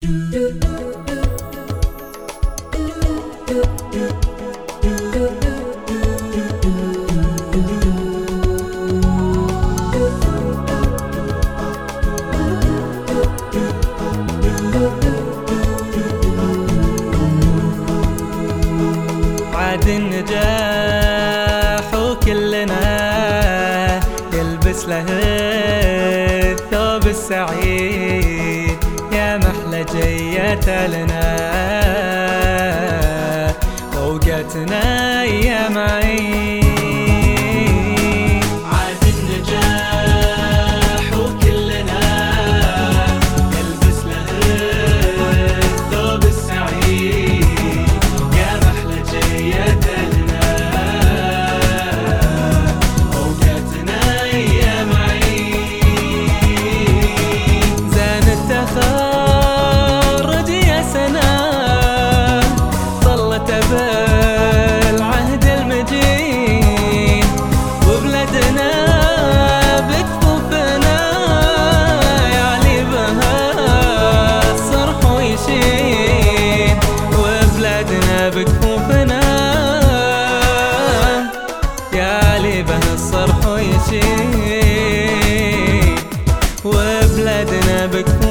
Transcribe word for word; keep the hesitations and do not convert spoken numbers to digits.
عاد النجاح وكلنا يلبس له الثوب السعيد، يا محلى جيت لنا فوقتنا ايام عيد. عاد النجاح وكلنا يلبس له الثوب السعيد، يا محلى جيت لنا فوقتنا ايام عيد. زين التخرج يا سنة ظلت بالعهد المجيد، وبلدنا بكفوفنا يعلي بها الصرح ويشيد، وبلدنا بكفوفنا يعلي بها الصرح ويشيد، وبلدنا بكفوفنا